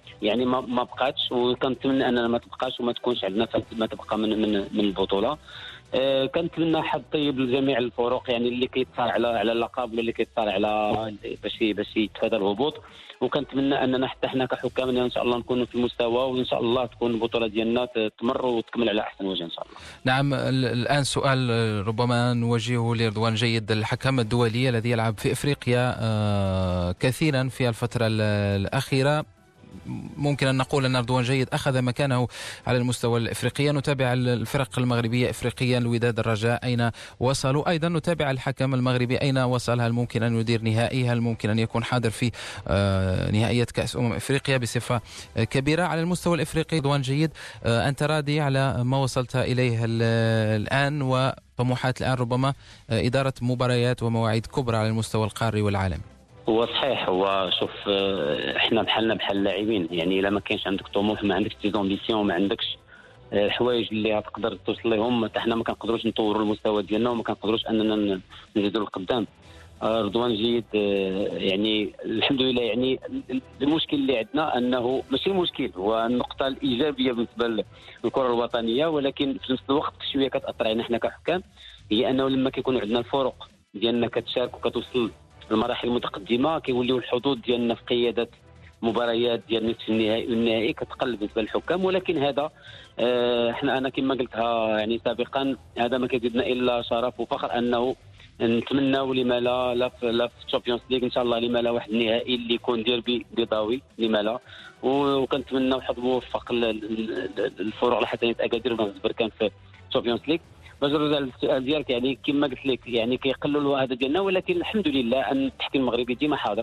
يعني ما ما بقاتش، وكنتمنى اننا ما تبقاش وما تكونش عندنا ما تبقى من من من البطوله. أه كنتمنى حظ طيب لجميع الفرق يعني اللي كيتصارع على على اللقب واللي كيتصارع على باش باش يتفادى الهبوط، وكنتمنى اننا حتى حنا كحكام ان شاء الله نكونوا في المستوى، وان شاء الله تكون البطوله ديالنا تمر وتكمل على احسن وجه ان شاء الله. نعم، الان سؤال ربما نوجهه لرضوان جيد، الحكم الدولي الذي يلعب في افريقيا كثيرا في الفتره الاخيره، ممكن أن نقول أن رضوان جيد أخذ مكانه على المستوى الإفريقي. نتابع الفرق المغربية إفريقيا، الوداد، الرجاء أين وصلوا، أيضا نتابع الحكم المغربي أين وصل، هل ممكن أن يدير نهائي، هل ممكن أن يكون حاضر في نهائية كأس أمم إفريقيا بصفة كبيرة. على المستوى الإفريقي رضوان جيد، أنت راضي على ما وصلت إليه الآن، وطموحات الآن ربما إدارة مباريات ومواعيد كبرى على المستوى القاري والعالمي؟ هو صحيح، هو شوف احنا بحالنا بحال اللاعبين، يعني الا ما كاينش عندك طموح، ما عندكش دي زامبيسيون، ما عندكش الحوايج اللي غتقدر توصل لهم، حتى حنا ما كنقدروش نطوروا المستوى ديالنا وما كنقدروش اننا نزيدوا للقدام. رضوان جيد يعني الحمد لله، يعني المشكل اللي عندنا انه ماشي المشكل، هو النقطه الايجابيه بالنسبه للكره الوطنيه، ولكن في نفس الوقت شويه كتاثر علينا حنا كحكام، هي انه لما كيكون عندنا الفرق ديالنا كتشارك وكتوصل المراحل المتقدمه، كيوليو الحظوظ ديالنا في قياده مباريات ديال نصف النهائي والنهائي كتقل بالنسبه للحكام. ولكن هذا اه احنا انا كما قلتها يعني سابقا، هذا ما كيزيدنا الا شرف وفخر انه نتمناو لما لا لا في لا في الشامبيونز ليغ ان شاء الله، لما لا واحد النهائي اللي يكون ديربي بيضاوي، لما لا، وكنتمناو حظ موفق للفرق الحسنيه اكادير وبركان في الشامبيونز ليغ. باش نرجع للسؤال ديالك، يعني كما قلت لك يعني كيقللوا هذا ديالنا، ولكن الحمد لله ان التحكيم المغربي ديما حاضر،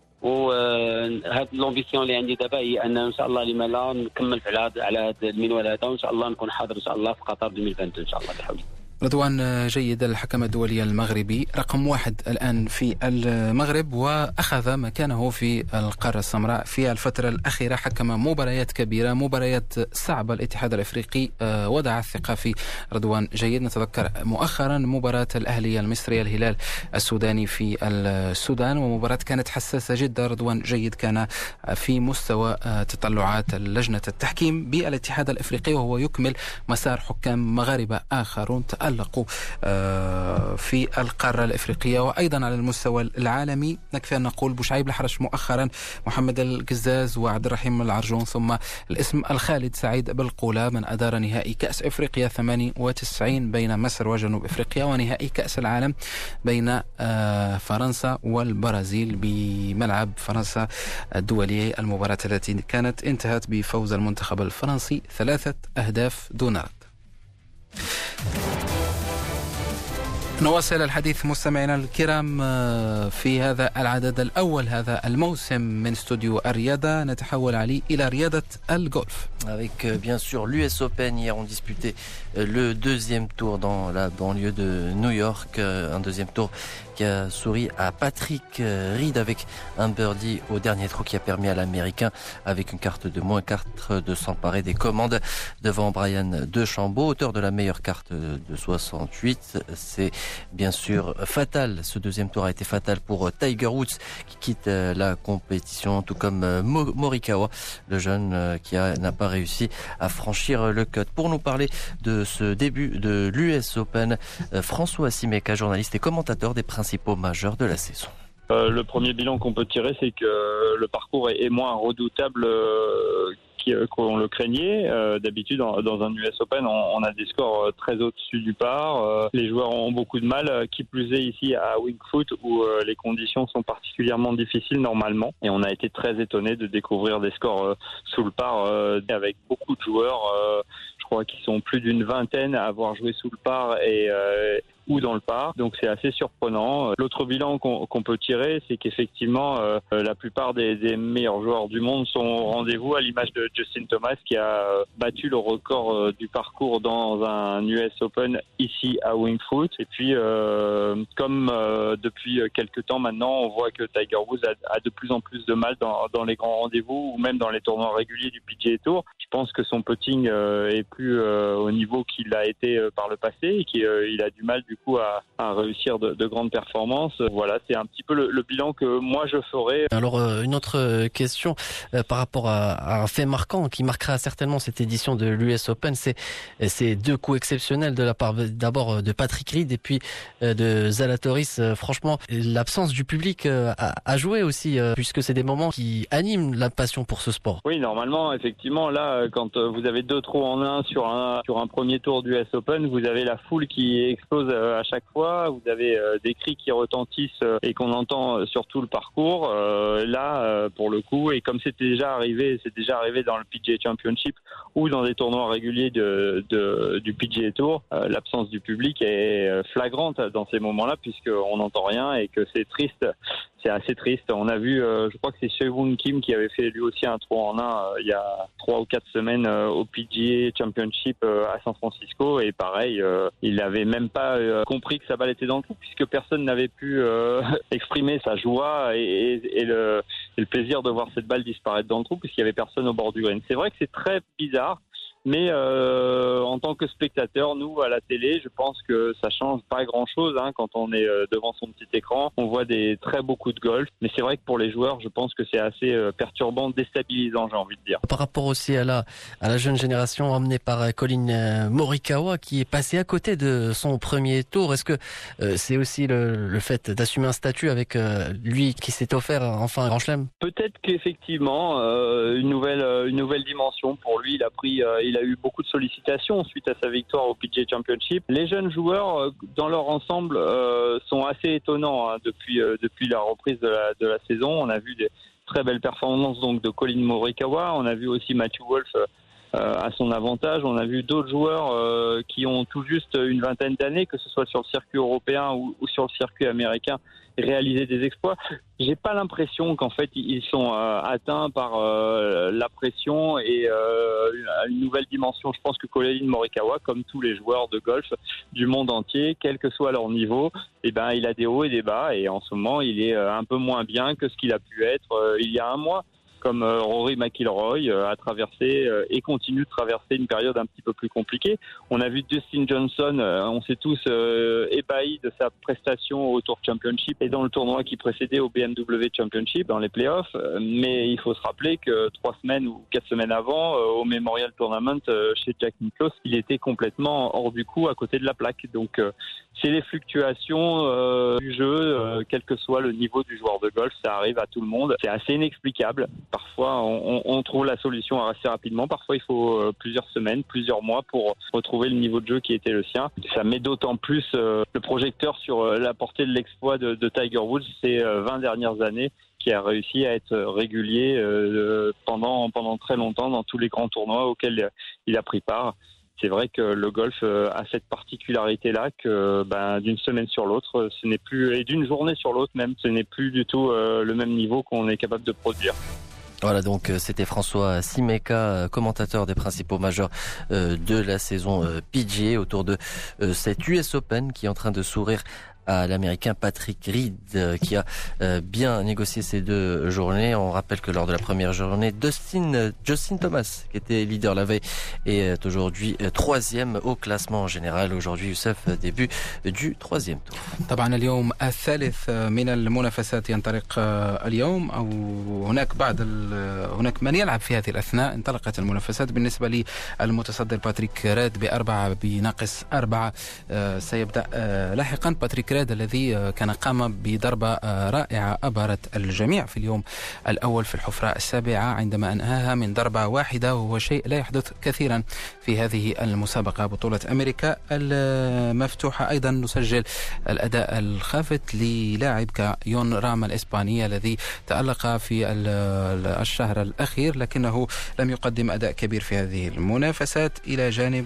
وهاد لومبيسيون اللي عندي دابا هي ان ان شاء الله لما لا نكمل على هذا على هذا المنوال هذا، وان شاء الله نكون حاضر ان شاء الله في قطر ألفين واثنين وعشرين ان شاء الله بحول الله. رضوان جيد، الحكم الدولي المغربي رقم واحد الآن في المغرب، وأخذ مكانه في القارة السمراء في الفترة الأخيرة، حكم مباريات كبيرة، مباريات صعبة. الاتحاد الأفريقي وضع الثقة في رضوان جيد. نتذكر مؤخرا مباراة الأهلية المصرية الهلال السوداني في السودان، ومباراة كانت حساسة جدا. رضوان جيد كان في مستوى تطلعات لجنة التحكيم بالاتحاد الأفريقي، وهو يكمل مسار حكام مغاربة آخرون تألقوا في القارة الإفريقية وأيضا على المستوى العالمي. نكفي أن نقول بوشعيب الحرش مؤخرا، محمد القزاز وعبد الرحيم العرجون، ثم الاسم الخالد سعيد بالقولة من أدار نهائي كأس إفريقيا ثمانية وتسعين بين مصر وجنوب إفريقيا، ونهائي كأس العالم بين فرنسا والبرازيل بملعب فرنسا الدولي، المباراة التي كانت انتهت بفوز المنتخب الفرنسي ثلاثة أهداف دون رد. نواصل الحديث مستمعينا الكرام في هذا العدد الأول هذا الموسم من استوديو الرياضة. نتحول علي إلى رياضة الجولف. Avec euh, bien sûr l'U S Open, hier on disputait euh, le deuxième tour dans la banlieue de New York, euh, un deuxième tour qui a souri à Patrick euh, Reed avec un birdie au dernier trou qui a permis à l'Américain, avec une carte de moins quatre, de s'emparer des commandes devant Brian DeChambeau, auteur de la meilleure carte de soixante-huit. C'est bien sûr fatal, ce deuxième tour a été fatal pour Tiger Woods qui quitte euh, la compétition, tout comme euh, Morikawa, le jeune euh, qui a, n'a pas réussi à franchir le cut. Pour nous parler de ce début de l'U S Open, euh, François Simeka, journaliste et commentateur des principaux majeurs de la saison. Euh, le premier bilan qu'on peut tirer, c'est que le parcours est, est moins redoutable euh, qu'on le craignait. Euh, d'habitude, dans, dans un U S Open, on, on a des scores très au-dessus du par. Euh, les joueurs ont beaucoup de mal, qui plus est ici à Winged Foot, où euh, les conditions sont particulièrement difficiles normalement. Et on a été très étonnés de découvrir des scores euh, sous le par, euh, avec beaucoup de joueurs. Euh, je crois qu'ils sont plus d'une vingtaine à avoir joué sous le par et euh, ou dans le par, donc c'est assez surprenant. L'autre bilan qu'on, qu'on peut tirer, c'est qu'effectivement euh, la plupart des, des meilleurs joueurs du monde sont au rendez-vous, à l'image de Justin Thomas qui a battu le record euh, du parcours dans un U S Open ici à Winged Foot. Et puis euh, comme euh, depuis quelques temps maintenant, on voit que Tiger Woods a, a de plus en plus de mal dans, dans les grands rendez-vous ou même dans les tournois réguliers du P G A Tour. Je pense que son putting euh, est plus euh, au niveau qu'il a été euh, par le passé et qu'il euh, a du mal du coup à, à réussir de, de grandes performances. Voilà, c'est un petit peu le, le bilan que moi je ferai. Alors euh, une autre question euh, par rapport à, à un fait marquant qui marquera certainement cette édition de l'U S Open, c'est ces deux coups exceptionnels de la part d'abord de Patrick Reed et puis euh, de Zalatoris. Euh, franchement, l'absence du public euh, a, a joué aussi euh, puisque c'est des moments qui animent la passion pour ce sport. Oui, normalement, effectivement, là, quand vous avez deux trous en un sur un sur un premier tour du U S Open, vous avez la foule qui explose à chaque fois, vous avez euh, des cris qui retentissent euh, et qu'on entend sur tout le parcours. Euh, là, euh, pour le coup, et comme c'était déjà arrivé, c'est déjà arrivé dans le P G A Championship ou dans des tournois réguliers de, de du P G A Tour, euh, l'absence du public est flagrante dans ces moments-là puisqu'on n'entend rien et que c'est triste. C'est assez triste. On a vu, euh, je crois que c'est Sehun Kim qui avait fait lui aussi un trou en un euh, il y a trois ou quatre semaines euh, au P G A Championship euh, à San Francisco et pareil, euh, il n'avait même pas euh, compris que sa balle était dans le trou puisque personne n'avait pu euh, exprimer sa joie et, et, et, le, et le plaisir de voir cette balle disparaître dans le trou puisqu'il y avait personne au bord du green. C'est vrai que c'est très bizarre. Mais euh, en tant que spectateur, nous, à la télé, je pense que ça change pas grand-chose hein, quand on est euh, devant son petit écran. On voit des très beaux coups de golf. Mais c'est vrai que pour les joueurs, je pense que c'est assez euh, perturbant, déstabilisant, j'ai envie de dire. Par rapport aussi à la, à la jeune génération emmenée par Collin Morikawa qui est passé à côté de son premier tour, est-ce que euh, c'est aussi le, le fait d'assumer un statut avec euh, lui qui s'est offert enfin un grand chelem? Peut-être qu'effectivement, euh, une nouvelle une nouvelle dimension pour lui. Il a pris... Euh, Il a eu beaucoup de sollicitations suite à sa victoire au P G A Championship. Les jeunes joueurs, dans leur ensemble, euh, sont assez étonnants hein, depuis euh, depuis la reprise de la de la saison. On a vu des très belles performances donc de Collin Morikawa. On a vu aussi Matthew Wolff euh, à son avantage. On a vu d'autres joueurs euh, qui ont tout juste une vingtaine d'années, que ce soit sur le circuit européen ou, ou sur le circuit américain, réaliser des exploits. J'ai pas l'impression qu'en fait ils sont euh, atteints par euh, la pression et euh, une nouvelle dimension. Je pense que Collin Morikawa, comme tous les joueurs de golf du monde entier, quel que soit leur niveau, eh ben il a des hauts et des bas et en ce moment il est un peu moins bien que ce qu'il a pu être euh, il y a un mois. Comme euh, Rory McIlroy euh, a traversé euh, et continue de traverser une période un petit peu plus compliquée. On a vu Dustin Johnson, euh, on s'est tous euh, ébahis de sa prestation au Tour Championship et dans le tournoi qui précédait au B M W Championship, dans les playoffs. Euh, mais il faut se rappeler que trois semaines ou quatre semaines avant, euh, au Memorial Tournament euh, chez Jack Nicklaus, il était complètement hors du coup à côté de la plaque. Donc euh, c'est les fluctuations euh, du jeu, euh, quel que soit le niveau du joueur de golf, ça arrive à tout le monde. C'est assez inexplicable. Parfois, on, on trouve la solution assez rapidement. Parfois, il faut euh, plusieurs semaines, plusieurs mois pour retrouver le niveau de jeu qui était le sien. Ça met d'autant plus euh, le projecteur sur euh, la portée de l'exploit de, de Tiger Woods ces euh, vingt dernières années, qui a réussi à être régulier euh, pendant, pendant très longtemps dans tous les grands tournois auxquels il a pris part. C'est vrai que le golf a cette particularité-là que ben, d'une semaine sur l'autre, ce n'est plus, et d'une journée sur l'autre même, ce n'est plus du tout euh, le même niveau qu'on est capable de produire. Voilà, donc c'était François Simeka, commentateur des principaux majeurs de la saison P G A autour de cette U S Open qui est en train de sourire à l'américain Patrick Reed qui a bien négocié ces deux journées. On rappelle que lors de la première journée, Dustin, Justin Thomas, qui était leader la veille, est aujourd'hui troisième au classement général. Aujourd'hui, Youssef, début du troisième tour. طبعا اليوم الثالث من المنافسات ينطلق اليوم أو هناك بعض هناك من يلعب في هذه الأثناء. انطلقت المنافسات بالنسبة للمتصدر باتريك ريد بأربعة بناقص أربعة. سيبدأ لاحقا باتريك ريد الذي كان قام بضربة رائعة أبهرت الجميع في اليوم الأول في الحفرة السابعة عندما أنهاها من ضربة واحدة، وهو شيء لا يحدث كثيرا في هذه المسابقة بطولة أمريكا المفتوحة. أيضا نسجل الأداء الخافت للاعب كيون راما الإسباني الذي تألق في الشهر الأخير لكنه لم يقدم أداء كبير في هذه المنافسات، إلى جانب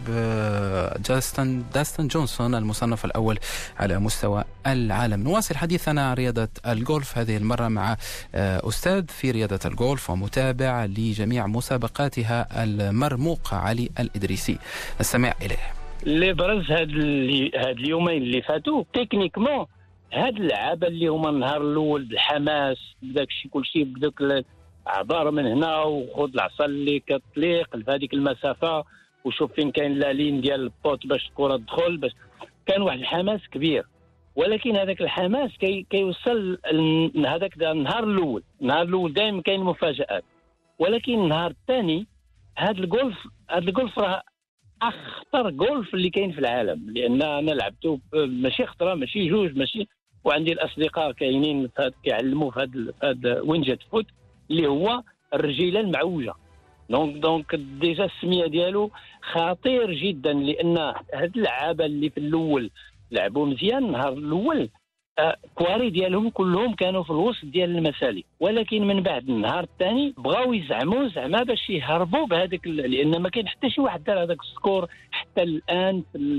جاستن داستن جونسون المصنف الأول على مستوى العالم. نواصل حديثنا عن رياضة الجولف هذه المرة مع أستاذ في رياضة الجولف ومتابع لجميع مسابقاتها المرموق علي الإدريسي. نستمع إليه. اللي برز هاد هاد اليومين اللي فاتوا تكنيكمون هاد اللعابه اللي هما النهار الاول بالحماس بداك الشيء كل شيء بداك عباره من هنا وخذ العصا اللي كتطليق لهذيك المسافه وشوف فين كاين لا لين ديال البوت باش الكره تدخل باش كان واحد الحماس كبير، ولكن هذاك الحماس كي كيوصل هذاك النهار الاول. النهار الاول دائما كاين مفاجآت، ولكن النهار الثاني هذا الجولف هذا الجولف راه اخطر جولف اللي كاين في العالم، لان انا لعبته ماشي خطره ماشي جوج ماشي، وعندي الاصدقاء كاينين كيعلموا في هذا هذا وينجت فوت اللي هو الرجيله المعوجه. دونك دونك ديجا السميه ديالو خطير جدا، لان هاد اللعابه اللي في الاول لعبوا مزيان النهار الاول كواري ديالهم كلهم كانوا في الوسط ديال المسالك، ولكن من بعد النهار الثاني بغاو يزعموا زعما باش يهربوا بهذاك، لان ما كاين حتى شي واحد دار هذاك السكور حتى الان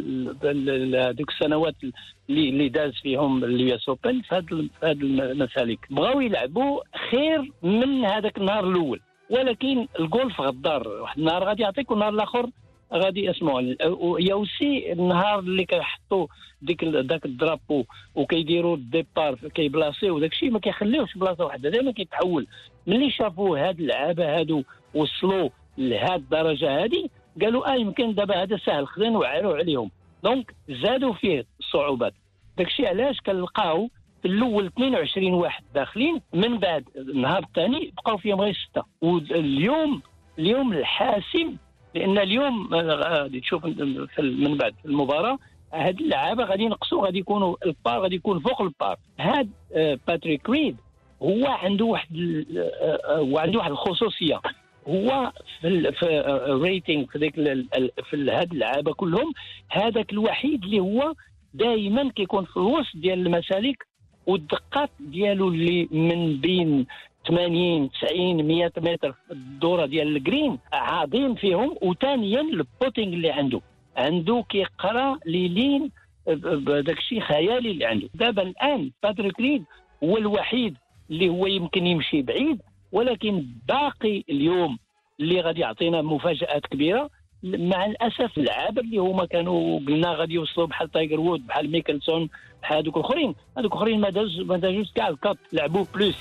في هذوك السنوات اللي اللي داز فيهم اليو اس اوبن في هذه المسالك. بغاو يلعبوا خير من هذاك النهار الاول، ولكن الجولف غدار، واحد النهار غادي يعطيك والنهار الاخر غادي اسمعوا. يا اوسي النهار اللي كيحطوا ديك داك الدرابو وكيديروا الديبار كيبلاصيو داك الشيء ما كيخليوش بلاصه واحده، دائما كيتحول. ملي شافوا هاد اللعابه هادو وصلوا لهاد الدرجه هادي قالوا اه يمكن دابا هذا سهل خلينا نوعروا عليهم، دونك زادوا فيه الصعوبات. داك الشيء علاش كنلقاو في الاول اثنين وعشرين واحد داخلين، من بعد النهار الثاني بقاو فيهم غير سته. واليوم اليوم الحاسم، لان اليوم غادي تشوف من بعد المباراه هاد اللعابه غادي ينقصوا، غادي يكونوا البار غادي يكون فوق البار. هاد باتريك ريد هو عنده واحد وعنده واحد الخصوصيه، هو في في الريتنج في ديك في هاد اللعابه كلهم هذاك الوحيد اللي هو دائما كيكون في الوسط ديال المسالك، والدقات ديالو اللي من بين ثمانين تسعين مية متر الدوره ديال الجرين عظيم فيهم. وثانيا البوتينغ اللي عنده عنده كيقرا ليلين بداك الشيء خيالي اللي عنده. دابا الان باتريك ريد هو الوحيد اللي هو يمكن يمشي بعيد، ولكن باقي اليوم اللي غادي يعطينا مفاجآت كبيره. مع الاسف اللعابه اللي هما كانوا قلنا غادي يوصلوا بحال تايجر وود بحال ميكلسون بحال هذوك الاخرين، هذوك الاخرين ما داز ما دازوش كاع الكات، لعبوا بلوس.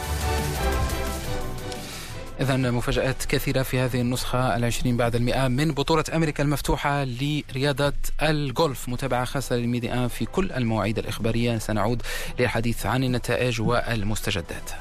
إذن مفاجآت كثيرة في هذه النسخة العشرين بعد المئة من بطولة أمريكا المفتوحة لرياضة الجولف. متابعة خاصة للميدي آن في كل المواعيد الإخبارية. سنعود للحديث عن النتائج والمستجدات.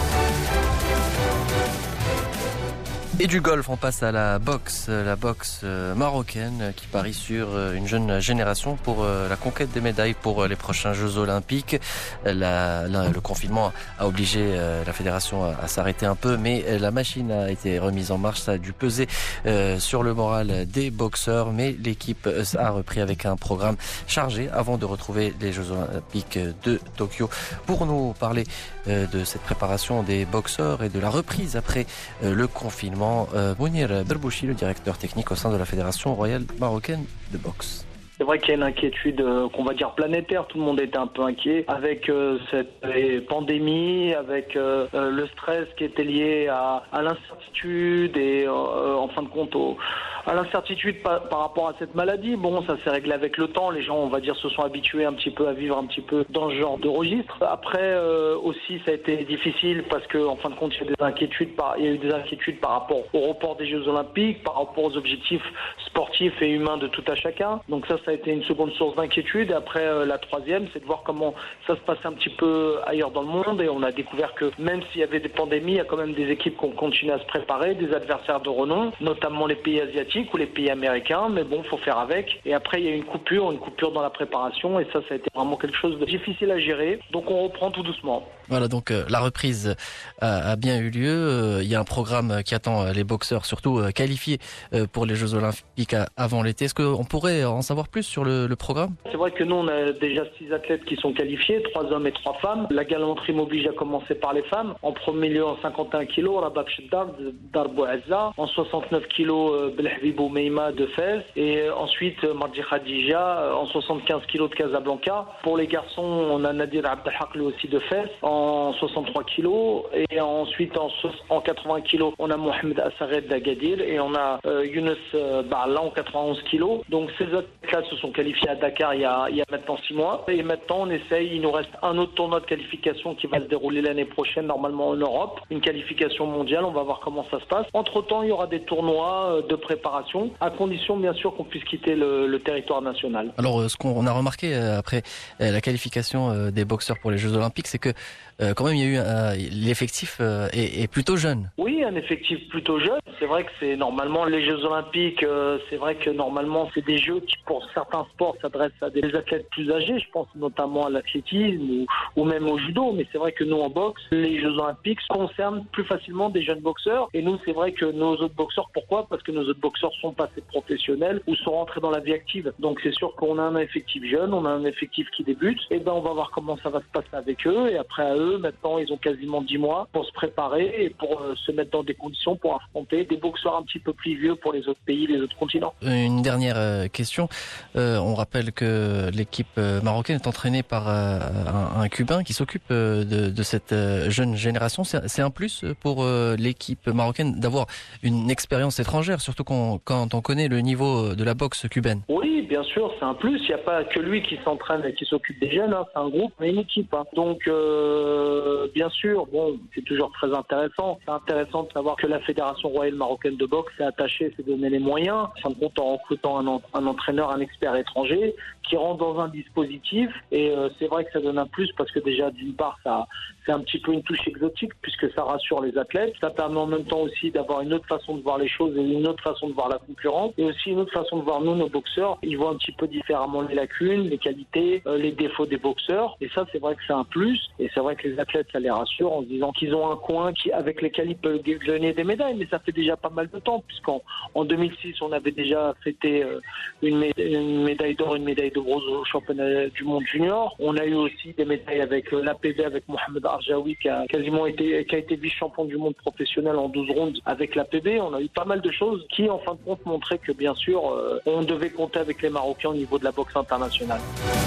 Et du golf, on passe à la boxe, la boxe marocaine qui parie sur une jeune génération pour la conquête des médailles pour les prochains Jeux Olympiques. La, la, le confinement a obligé la fédération à, à s'arrêter un peu, mais la machine a été remise en marche. Ça a dû peser euh, sur le moral des boxeurs, mais l'équipe a repris avec un programme chargé avant de retrouver les Jeux Olympiques de Tokyo. Pour nous parler euh, de cette préparation des boxeurs et de la reprise après euh, le confinement, Mounir Berbouchi, le directeur technique au sein de la Fédération royale marocaine de boxe. C'est vrai qu'il y a une inquiétude euh, qu'on va dire planétaire, tout le monde était un peu inquiet avec euh, cette euh, pandémie, avec euh, euh, le stress qui était lié à, à l'incertitude et euh, en fin de compte au, à l'incertitude par, par rapport à cette maladie. Bon, ça s'est réglé avec le temps, les gens on va dire se sont habitués un petit peu à vivre un petit peu dans ce genre de registre. Après euh, aussi ça a été difficile parce que en fin de compte il y a des inquiétudes par, il y a eu des inquiétudes par rapport au report des Jeux Olympiques, par rapport aux objectifs sportifs et humains de tout à chacun. Donc ça, ça a été une seconde source d'inquiétude. Et après, euh, la troisième, c'est de voir comment ça se passait un petit peu ailleurs dans le monde. Et on a découvert que même s'il y avait des pandémies, il y a quand même des équipes qui ont continué à se préparer, des adversaires de renom, notamment les pays asiatiques ou les pays américains. Mais bon, il faut faire avec. Et après, il y a une coupure, une coupure dans la préparation. Et ça, ça a été vraiment quelque chose de difficile à gérer. Donc on reprend tout doucement. Voilà, donc euh, la reprise a, a bien eu lieu. Euh, il y a un programme qui attend les boxeurs, surtout euh, qualifiés euh, pour les Jeux Olympiques à, avant l'été. Est-ce qu'on pourrait en savoir plus sur le, le programme? C'est vrai que nous, on a déjà six athlètes qui sont qualifiés, trois hommes et trois femmes. La galanterie m'oblige à commencer par les femmes. En premier lieu, en cinquante et un kilos, Rabab Cheddar de Darbo Azza. En soixante-neuf kilos, Belhabibou Meima de Fès. Et ensuite, Mardi Khadija en soixante-quinze kilos de Casablanca. Pour les garçons, on a Nadir Abdelhaq lui aussi de Fès. En en soixante-trois kilos. Et ensuite, en, en quatre-vingts kilos, on a Mohamed Assared d'Agadir et on a euh, Younes Barla en quatre-vingt-onze kilos. Donc ces athlètes se sont qualifiés à Dakar il y, a, il y a maintenant six mois. Et maintenant, on essaye, il nous reste un autre tournoi de qualification qui va se dérouler l'année prochaine, normalement en Europe. Une qualification mondiale, on va voir comment ça se passe. Entre-temps, il y aura des tournois de préparation, à condition bien sûr qu'on puisse quitter le, le territoire national. Alors, ce qu'on a remarqué après la qualification des boxeurs pour les Jeux Olympiques, c'est que Euh, quand même, il y a eu un, l'effectif euh, est, est plutôt jeune. Oui, un effectif plutôt jeune. C'est vrai que c'est normalement les Jeux Olympiques. Euh, c'est vrai que normalement, c'est des jeux qui, pour certains sports, s'adressent à des athlètes plus âgés. Je pense notamment à l'athlétisme ou, ou même au judo. Mais c'est vrai que nous, en boxe, les Jeux Olympiques concernent plus facilement des jeunes boxeurs. Et nous, c'est vrai que nos autres boxeurs, pourquoi ? Parce que nos autres boxeurs sont passés professionnels ou sont rentrés dans la vie active. Donc c'est sûr qu'on a un effectif jeune, on a un effectif qui débute. Et ben, on va voir comment ça va se passer avec eux. Et après à eux. Maintenant, ils ont quasiment dix mois pour se préparer et pour euh, se mettre dans des conditions pour affronter des boxeurs un petit peu plus vieux pour les autres pays, les autres continents. Une dernière euh, question. Euh, on rappelle que l'équipe euh, marocaine est entraînée par euh, un, un Cubain qui s'occupe euh, de, de cette euh, jeune génération. C'est, c'est un plus pour euh, l'équipe marocaine d'avoir une expérience étrangère, surtout quand, quand on connaît le niveau de la boxe cubaine. Oui, bien sûr, c'est un plus. Il n'y a pas que lui qui s'entraîne et qui s'occupe des jeunes. Hein. C'est un groupe, mais une équipe. Hein. Donc, euh, bien sûr, bon, c'est toujours très intéressant. C'est intéressant de savoir que la Fédération royale marocaine de boxe s'est attachée, s'est donné les moyens, en fin de compte en recrutant un, un entraîneur, un expert étranger, qui rentre dans un dispositif. Et euh, c'est vrai que ça donne un plus parce que déjà, d'une part, ça, c'est un petit peu une touche exotique puisque ça rassure les athlètes. Ça permet en même temps aussi d'avoir une autre façon de voir les choses et une autre façon de voir la concurrence. Et aussi une autre façon de voir nous, nos boxeurs. Ils voient un petit peu différemment les lacunes, les qualités, euh, les défauts des boxeurs. Et ça, c'est vrai que c'est un plus. Et c'est vrai que les athlètes, ça les rassure en se disant qu'ils ont un coin qui, avec lesquels ils peuvent gagner des médailles. Mais ça fait déjà pas mal de temps puisqu'en en deux mille six, on avait déjà fêté euh, une, médaille, une médaille d'or, une médaille de bronze au championnat du monde junior. On a eu aussi des médailles avec euh, l'A P V, avec Mohamed Arjaoui qui a quasiment été, qui a été vice-champion du monde professionnel en douze rounds avec l'A P V. On a eu pas mal de choses qui, en fin de compte, montraient que bien sûr, euh, on devait compter avec les Marocains au niveau de la boxe internationale.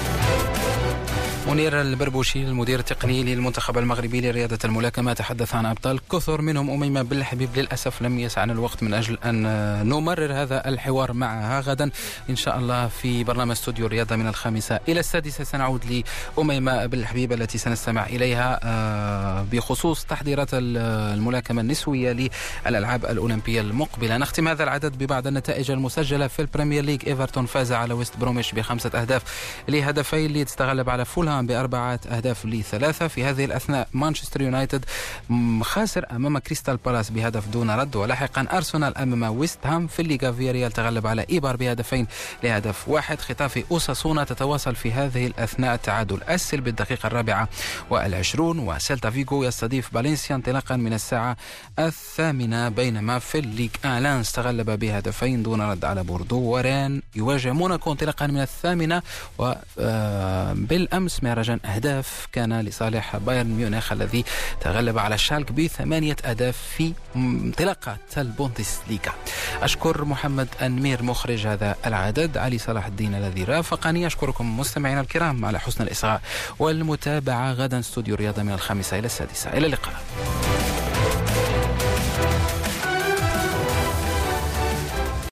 منير البربوشي المدير التقني للمنتخب المغربي لرياضة الملاكمة تحدث عن أبطال كثر منهم أميمة بالحبيب. للأسف لم يسعنا الوقت من أجل أن نمرر هذا الحوار معها. غدا إن شاء الله في برنامج استوديو الرياضة من الخامسة إلى السادسة سنعود لأميمة بالحبيب التي سنستمع إليها بخصوص تحضيرات الملاكمة النسوية للألعاب الأولمبية المقبلة. نختم هذا العدد ببعض النتائج المسجلة في البريمير ليج. إيفرتون فاز على ويست بروميش بخمسة أهداف لهدفين، ليدز تغلب على فولهام بأربعة أهداف لثلاثة. في هذه الأثناء مانشستر يونايتد خاسر أمام كريستال بالاس بهدف دون رد، ولاحقا أرسنال أمام ويست هام. في الليغا فياريال تغلب على إيبار بهدفين لهدف واحد. ختافي أوساسونا تتواصل في هذه الأثناء تعادل أسل بالدقيقة الرابعة والعشرون، وسيلتا فيغو يستضيف فالنسيا انطلاقا من الساعة الثامنة. بينما في الليغ آن لانس تغلب بهدفين دون رد على بوردو، ورين يواجه موناكو انطلاقا من الثامنة. وبالأمس مهرجان أهداف كان لصالح بايرن ميونخ الذي تغلب على شالك بثمانية أهداف في انطلاقة البوندسليغا. أشكر محمد النمير مخرج هذا العدد، علي صلاح الدين الذي رافقني. أشكركم مستمعينا الكرام على حسن الإصغاء والمتابعة. غدا استوديو الرياضة من الخامسة إلى السادسة. إلى اللقاء.